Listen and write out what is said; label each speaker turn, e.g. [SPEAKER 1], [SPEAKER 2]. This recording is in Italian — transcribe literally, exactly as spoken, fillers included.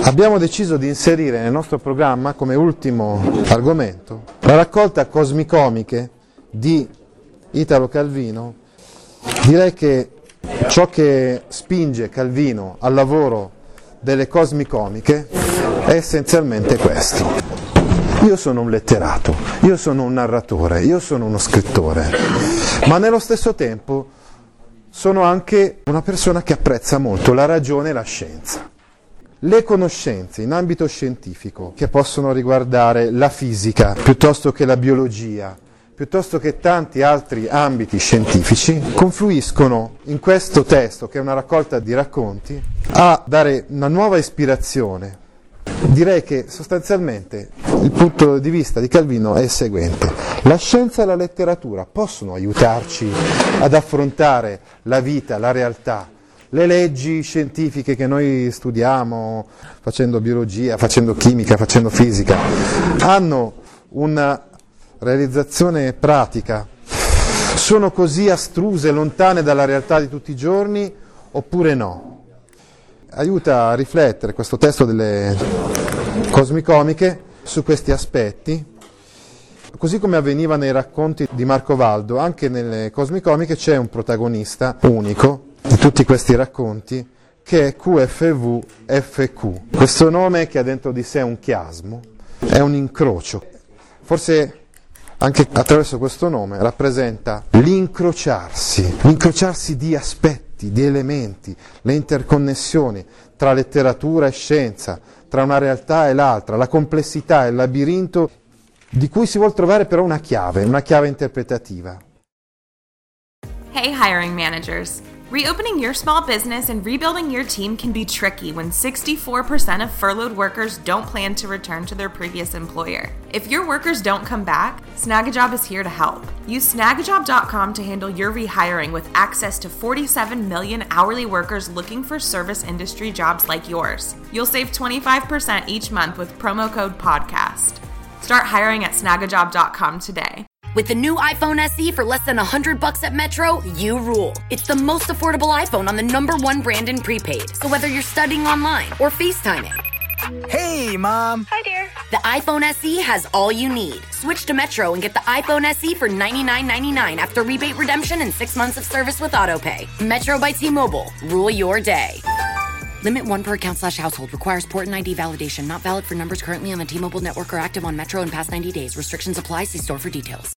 [SPEAKER 1] Abbiamo deciso di inserire nel nostro programma come ultimo argomento la raccolta Cosmicomiche di Italo Calvino. Direi che ciò che spinge Calvino al lavoro delle Cosmicomiche è essenzialmente questo. Io sono un letterato, io sono un narratore, io sono uno scrittore, ma nello stesso tempo sono anche una persona che apprezza molto la ragione e la scienza. Le conoscenze in ambito scientifico, che possono riguardare la fisica, piuttosto che la biologia, piuttosto che tanti altri ambiti scientifici, confluiscono in questo testo, che è una raccolta di racconti, a dare una nuova ispirazione. Direi che sostanzialmente il punto di vista di Calvino è il seguente: la scienza e la letteratura possono aiutarci ad affrontare la vita, la realtà. Le leggi scientifiche che noi studiamo facendo biologia, facendo chimica, facendo fisica, hanno una realizzazione pratica? Sono così astruse, lontane dalla realtà di tutti i giorni, oppure no? Aiuta a riflettere questo testo delle Cosmicomiche su questi aspetti. Così come avveniva nei racconti di Marco Valdo, anche nelle Cosmicomiche c'è un protagonista unico di tutti questi racconti, che è Q F V F Q. Questo nome, che ha dentro di sé un chiasmo, è un incrocio. Forse anche attraverso questo nome rappresenta l'incrociarsi, l'incrociarsi di aspetti, di elementi, le interconnessioni tra letteratura e scienza, tra una realtà e l'altra, la complessità e il labirinto di cui si vuol trovare però una chiave, una chiave interpretativa.
[SPEAKER 2] Hey hiring managers. Reopening your small business and rebuilding your team can be tricky when sixty-four percent of furloughed workers don't plan to return to their previous employer. If your workers don't come back, Snagajob is here to help. Use snagajob dot com to handle your rehiring with access to forty-seven million hourly workers looking for service industry jobs like yours. You'll save twenty-five percent each month with promo code PODCAST. Start hiring at snagajob dot com today.
[SPEAKER 3] With the new iPhone S E for less than one hundred bucks at Metro, you rule. It's the most affordable iPhone on the number one brand in prepaid. So whether you're studying online or FaceTiming.
[SPEAKER 4] Hey, Mom.
[SPEAKER 3] Hi, dear. The iPhone S E has all you need. Switch to Metro and get the iPhone S E for ninety-nine ninety-nine after rebate redemption and six months of service with AutoPay. Metro by T-Mobile. Rule your day. Limit one per account slash household. Requires port and I D validation. Not valid for numbers currently on the T-Mobile network or active on Metro in past ninety days. Restrictions apply. See store for details.